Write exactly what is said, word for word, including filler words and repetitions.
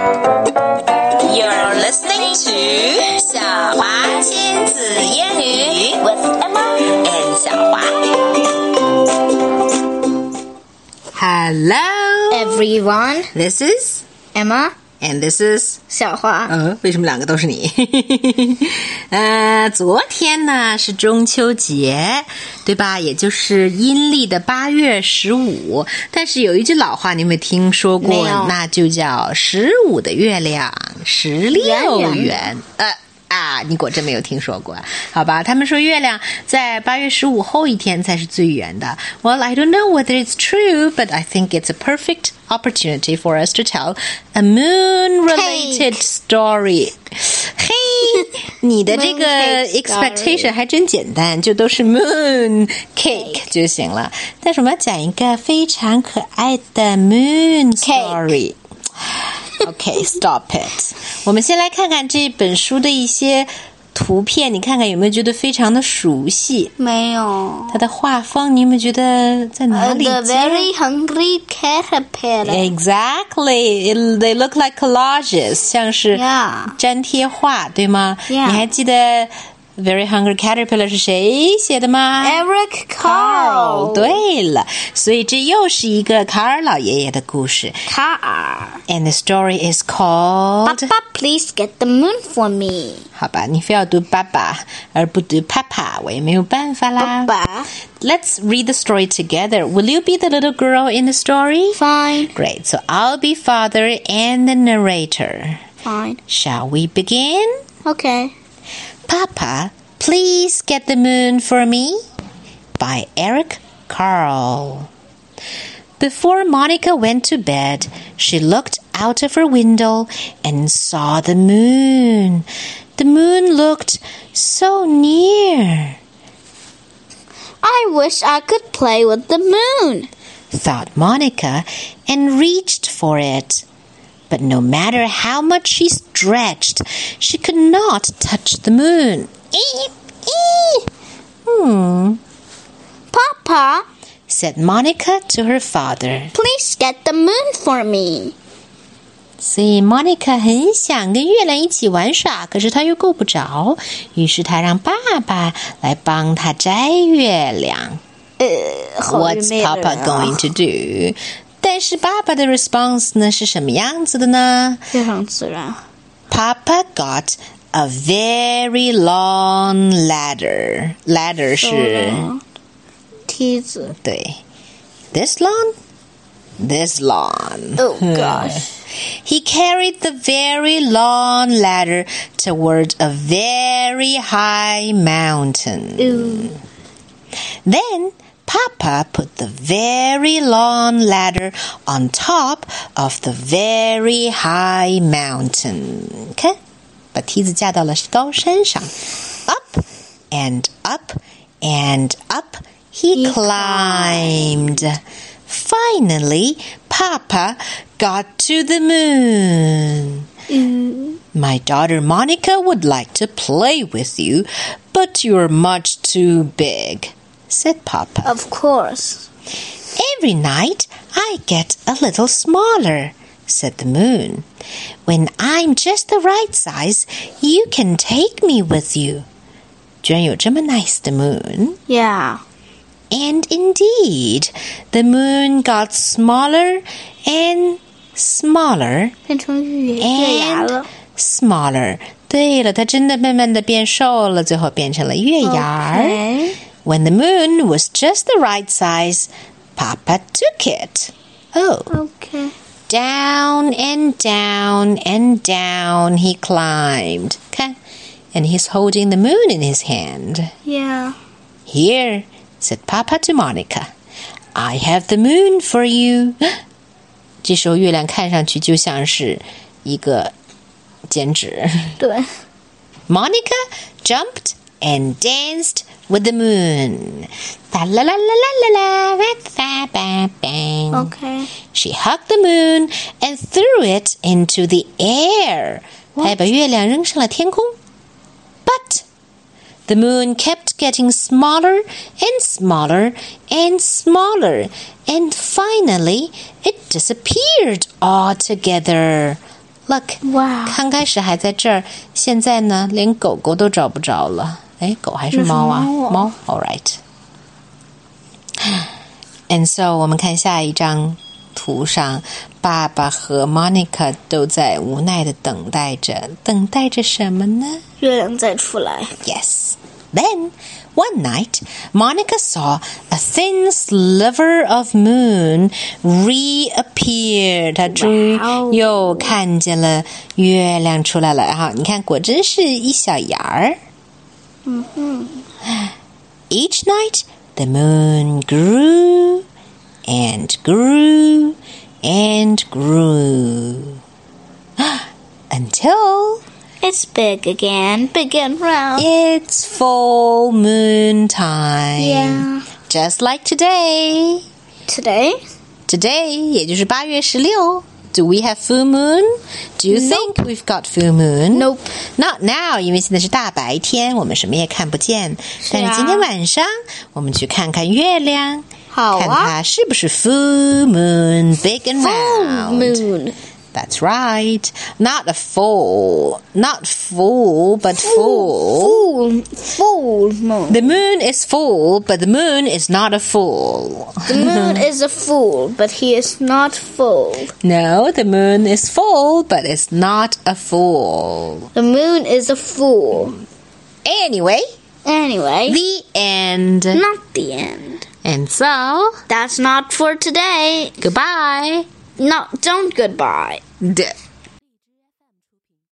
You're listening to 小华亲子英语 with Emma and 小华。 Hello, everyone. This is Emma, and this is 小华。 呃，为什么两个都是你？呃，昨天呢是中秋节，对吧？也就是阴历的八月十五。但是有一句老话，你有没有听说过？ 没有。 那就叫十五的月亮十六圆。呃。啊，你果真没有听说过，好吧？他们说月亮在八月十五后一天才是最圆的。Well, I don't know whether it's true, but I think it's a perfect opportunity for us to tell a moon-related story. 嘿，你的这个 expectation 还真简单，就都是 moon cake 就行了。但是我们要讲一个非常可爱的 moon story。Okay, stop it. 我们先来看看这本书的一些图片，你看看有没有觉得非常的熟悉？ 没有。 它的画风，你有没有觉得在哪里？ The very hungry caterpillar. Exactly. They look like collages, 像是粘贴画， yeah. 对吗？ Yeah. 你还记得Very Hungry Caterpillar 是谁写的吗？ Eric Carle。 对了，所以这又是一个卡尔老爷爷的故事。 卡尔。 And the story is called Papa, please get the moon for me. 好吧，你非要读爸爸而不读 Papa， 我也没有办法啦。 爸爸。 Let's read the story together. Will you be the little girl in the story? Fine. Great. So I'll be father and the narrator. Fine. Shall we begin? Okay. Papa, please get the moon for me. By Eric Carle. Before Monica went to bed, she looked out of her window and saw the moon. The moon looked so near. I wish I could play with the moon, thought Monica, and reached for it. But no matter how much she stretched, she could not touch the moon. Hmm. Papa, said Monica to her father. Please get the moon for me. 所以 Monica 很想跟月亮一起玩耍，可是她又够不着，于是她让爸爸来帮她摘月亮。 呃 What's Papa going to do?但是爸爸的 response 呢是什么样子的呢？ 非常自然。 Papa got a very long ladder. Ladder 是梯子。 对 This long? This long. Oh gosh. He carried the very long ladder toward a very high mountain. Ooh. Then Papa put the very long ladder on top of the very high mountain. 看，把梯子架到了高山上。Up and up and up he, he climbed. climbed. Finally, Papa got to the moon. Mm. My daughter Monica would like to play with you, but you're much too big, said Papa. Of course. Every night I get a little smaller, said the moon. When I'm just the right size, you can take me with you. 居然有这么 nice 的 moon. Yeah. And indeed, the moon got smaller and smaller 变成月月牙了 smaller. 对了，它真的慢慢的变瘦了，最后变成了月牙。 Okay. When the moon was just the right size, Papa took it. Oh. Okay. Down and down and down he climbed. 看 And he's holding the moon in his hand. Yeah. Here, said Papa to Monica. I have the moon for you. 这时候月亮看上去就像是一个剪纸。 对。 Monica jumped and danced with the moon. La la la la la la bang. Okay. She hugged the moon and threw it into the air. 她把月亮扔上了天空。But the moon kept getting smaller and smaller and smaller, and finally it disappeared altogether. Look, Wow. 刚开始还在这儿，现在呢，连狗狗都找不着了。哎，狗还是猫啊？ 那是猫啊。 猫 All right. And so 我们看下一张图上，爸爸和 Monica 都在无奈的等待着，等待着什么呢？ 月亮再出来。 Yes. Then, one night, Monica saw a thin sliver of moon reappear. 她终于又看见了月亮出来了。哈，你看，果真是一小芽儿。 嗯哼。 Each night, the moon grew and grew and grew until It's big again, big and round. it's full moon time. Yeah. Just like today. Today? Today, 也就是八月十六. Do we have full moon? Do you think we've got full moon? Nope. Not now, 因为现在是大白天，我们什么也看不见。但是今天晚上，我们去看看月亮， 好啊。 看它是不是 full moon, big and Full round. moon. That's right. Not a full, not full, but full. Full, full moon. The moon is full, but the moon is not a fool. The moon is a fool, but he is not full. No, the moon is full, but it's not a fool. The moon is a fool. Anyway, Anyway, the end. not the end. And so, That's not for today. goodbye. No, don't goodbye. D-